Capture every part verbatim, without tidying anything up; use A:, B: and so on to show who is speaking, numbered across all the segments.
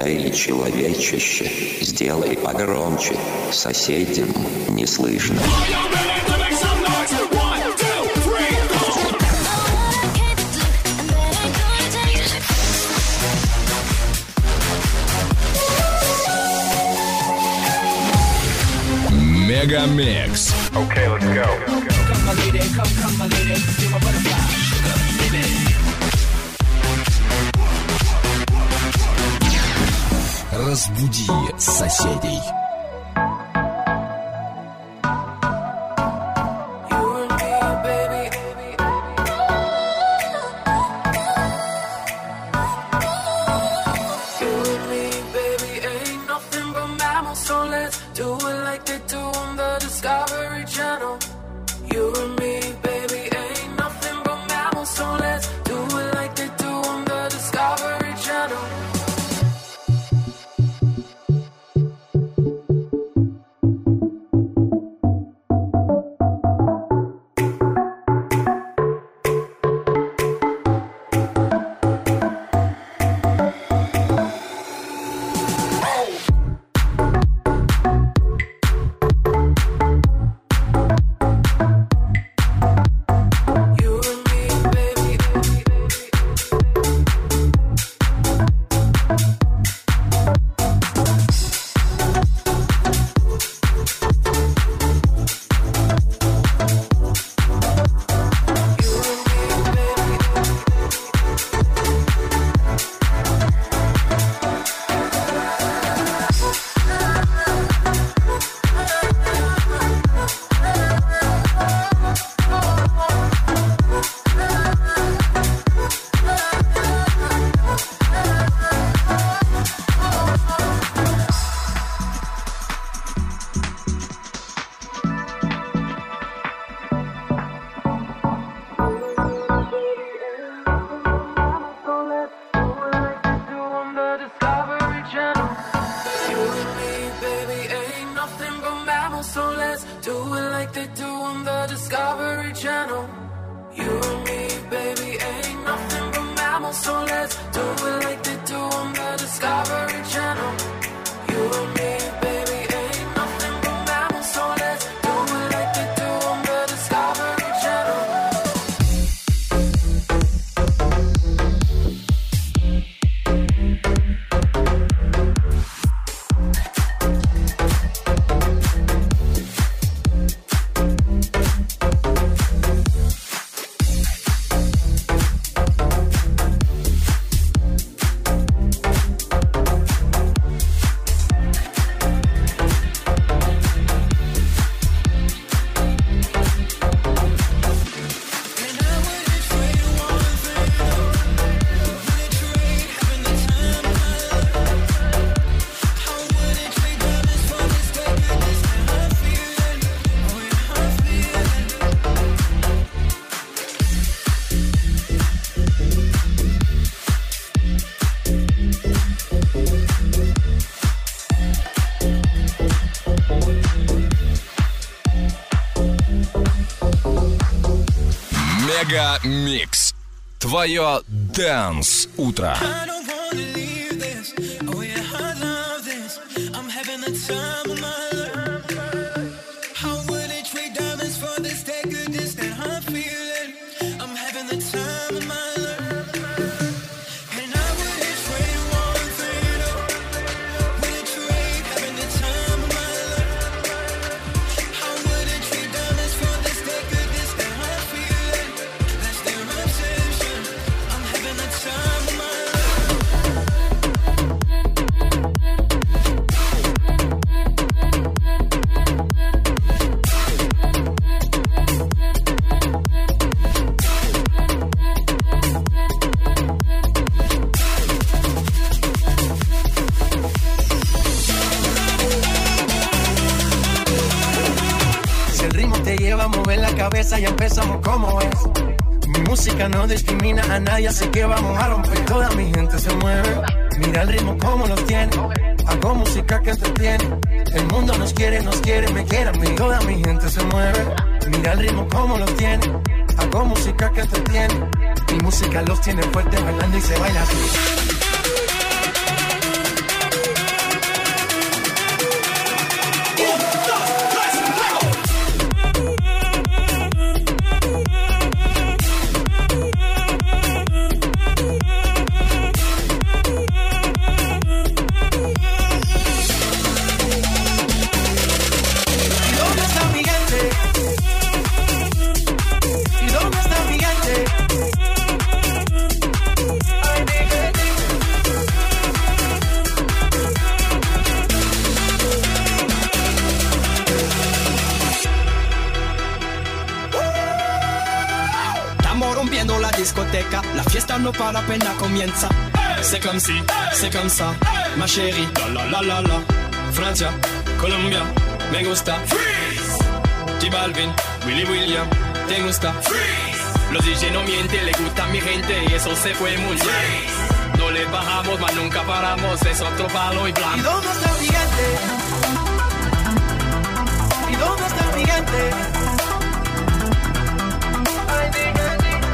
A: Эй, человечище, сделай погромче, соседям не слышно.
B: Мегамикс.
C: Okay, let's go.
D: Come my lady, come, come my lady, you're my butterfly, sugar, baby.
B: Разбуди соседей. Мегамикс. Твое Dance утро.
E: Ya empezamos como es. Mi música no discrimina a nadie, así que vamos a romper. Toda mi gente se mueve. Mira el ritmo como los tiene. Hago música que entretiene. El mundo nos quiere, nos quiere, me quiere a mí. Toda mi gente se mueve. Mira el ritmo como los tiene. Hago música que entretiene. Mi música los tiene fuerte bailando y se baila así.
C: discoteca, la fiesta no para apenas comienza. C'est comme si, c'est comme ça, ma chérie, la la la la la. Francia, Colombia, me gusta. Freeze. J Balvin, Willy William, te gusta. Freeze. Los D J no mienten, le gusta a mi gente y eso se fue muy bien. No le bajamos, mas nunca paramos, es otro palo y blanco.
E: ¿Y dónde está el gigante? ¿Y dónde está el gigante? Ay, diga,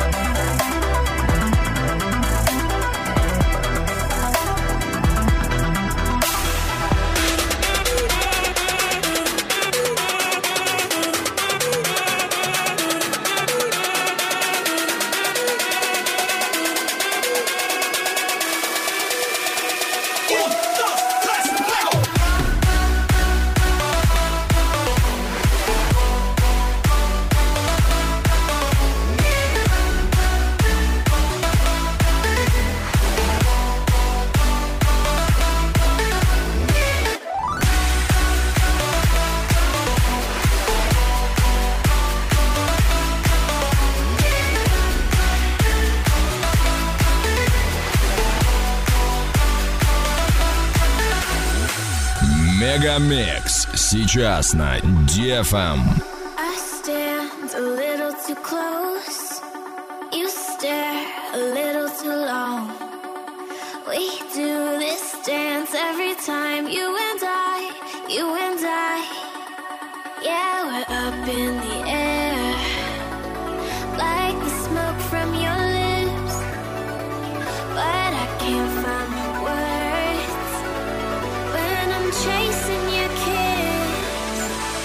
B: Мегамикс сейчас на ди эф эм.
F: I stand a little too close. You stare a little too long. We do this dance every time, you and I, you and I. Yeah, we're up in the air, like the smoke from your lips. But I can't find the words when I'm chasing your kiss.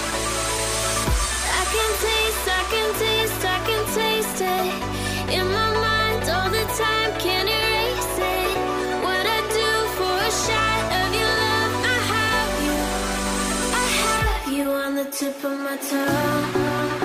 F: I can taste, I can taste, I can taste it in my mind all the time, can't erase it. What I do for a shot of your love, I have you, I have you on the tip of my tongue.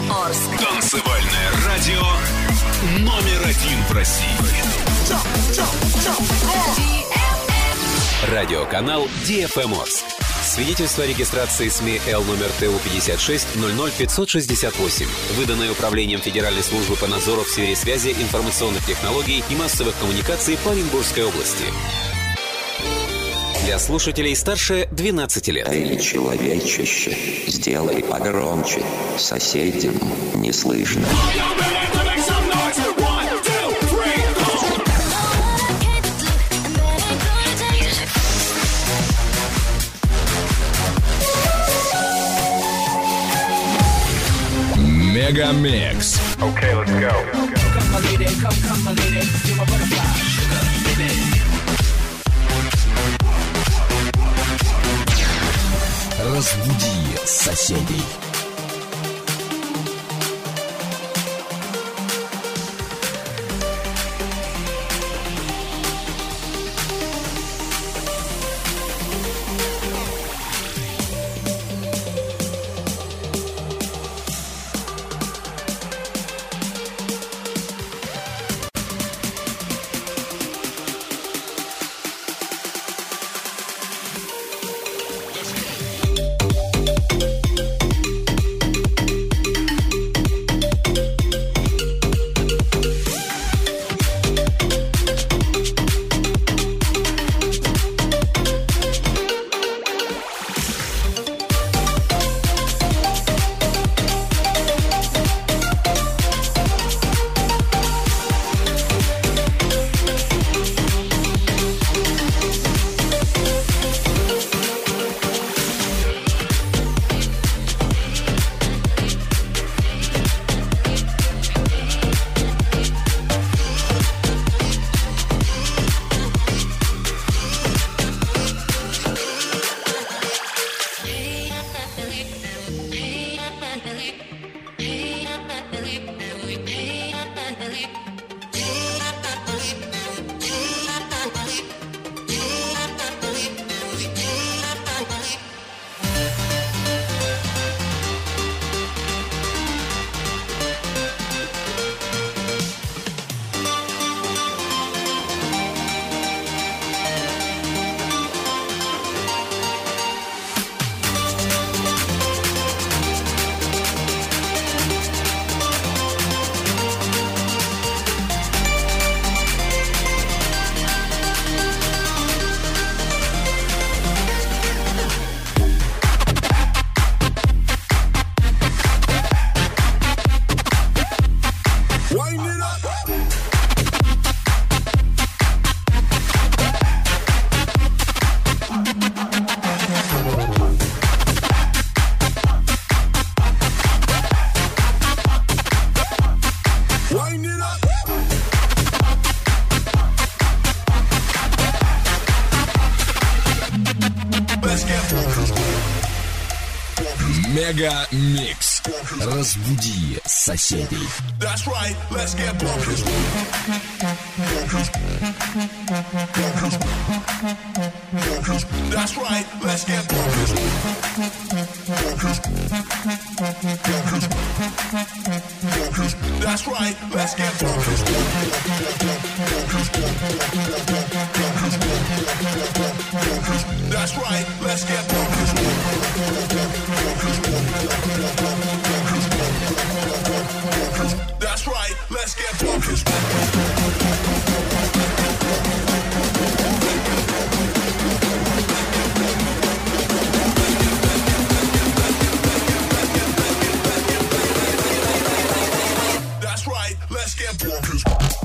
G: Орск.
B: Танцевальное радио номер один в России.
H: Радиоканал ди эф эм Орск. Свидетельство о регистрации СМИ Л номер Т У пятьдесят шесть ноль ноль пятьсот шестьдесят восемь, выданное Управлением Федеральной службы по надзору в сфере связи, информационных технологий и массовых коммуникаций по Оренбургской области. Для слушателей старше двенадцати лет.
A: Эй, человечище, сделай погромче, соседям не слышно.
B: Мегамикс.
D: Okay, let's go. Come, my lady, come, come, my lady. You're my butterfly, sugar, baby.
B: Разбуди соседей. Мегамикс. Разбуди соседей.
I: That's right, let's get bumpers. That's right, let's get bumpers. That's right, let's get bumpers. That's right, let's get bumpers. That's right, let's get bumpers. That's right, let's get bumpers.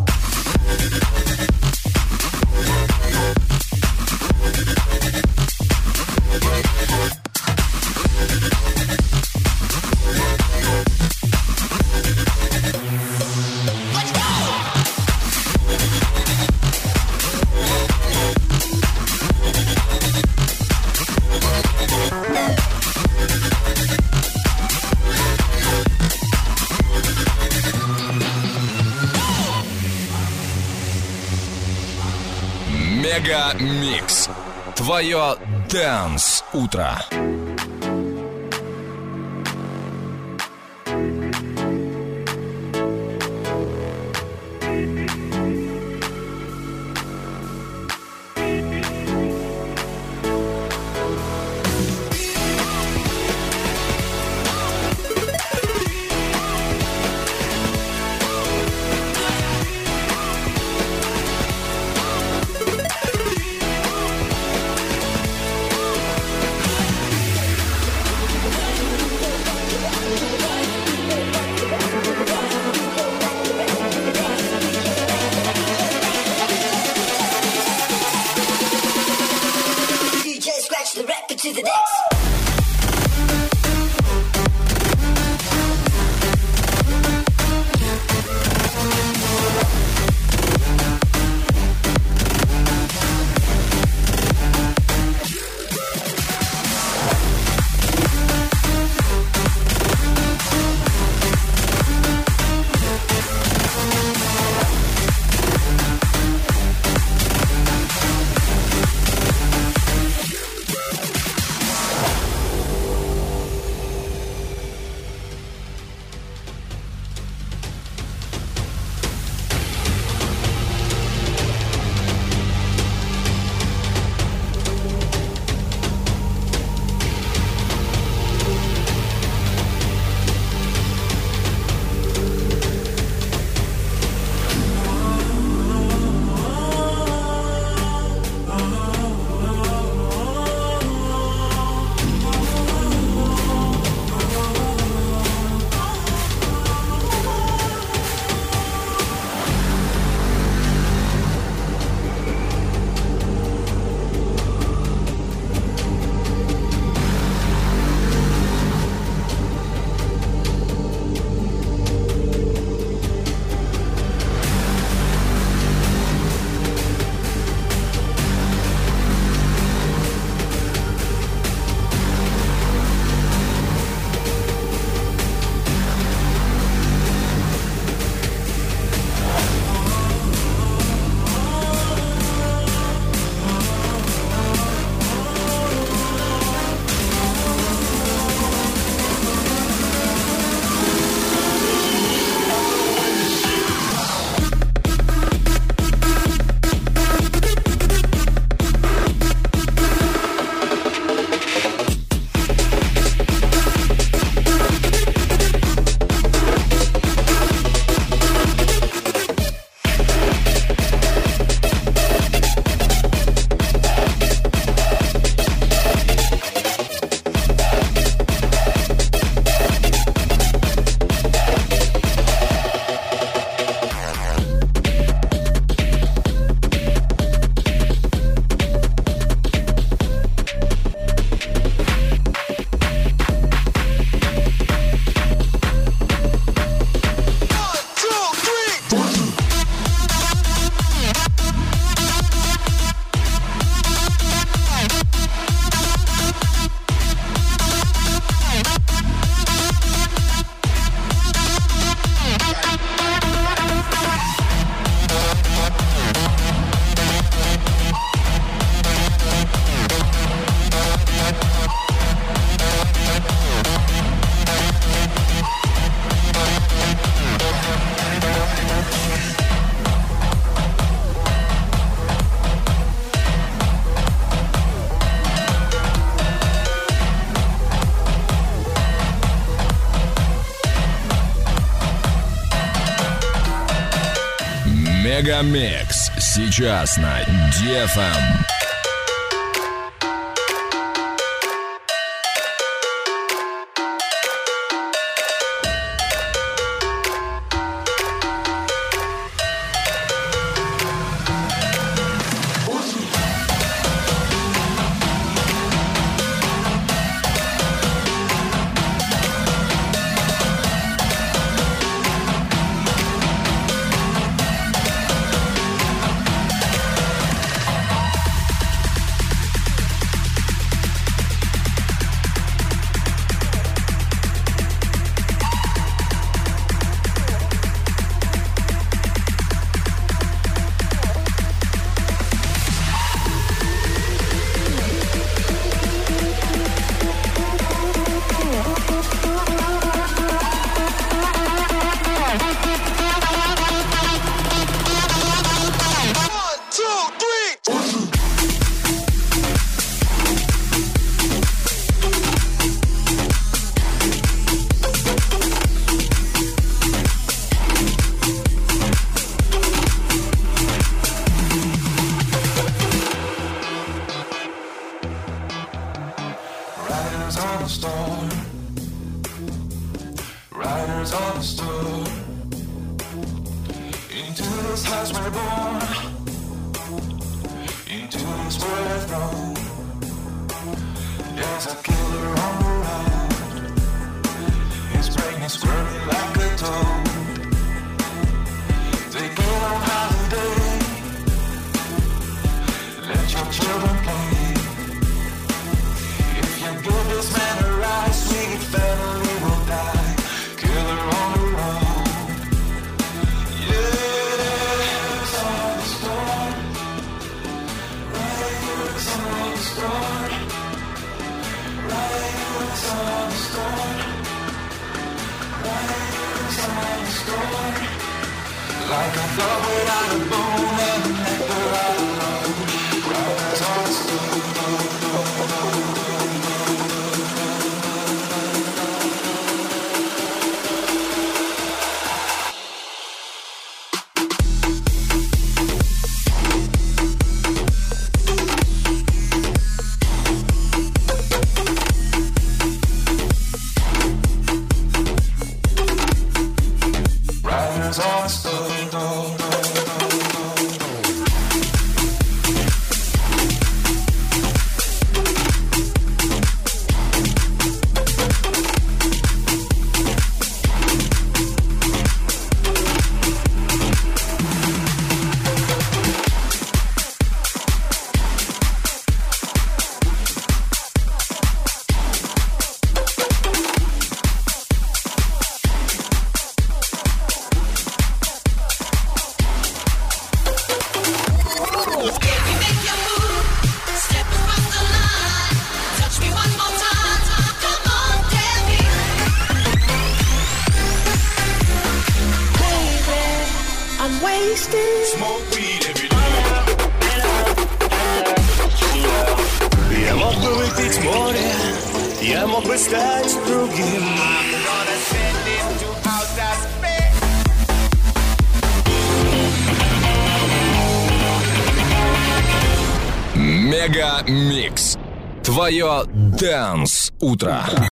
B: Мегамикс. Твое Dance утро.
G: Мегамикс сейчас на ди эф эм.
J: Я мог бы выпить море, я мог бы стать другим.
G: Мегамикс. Твое Dance утро.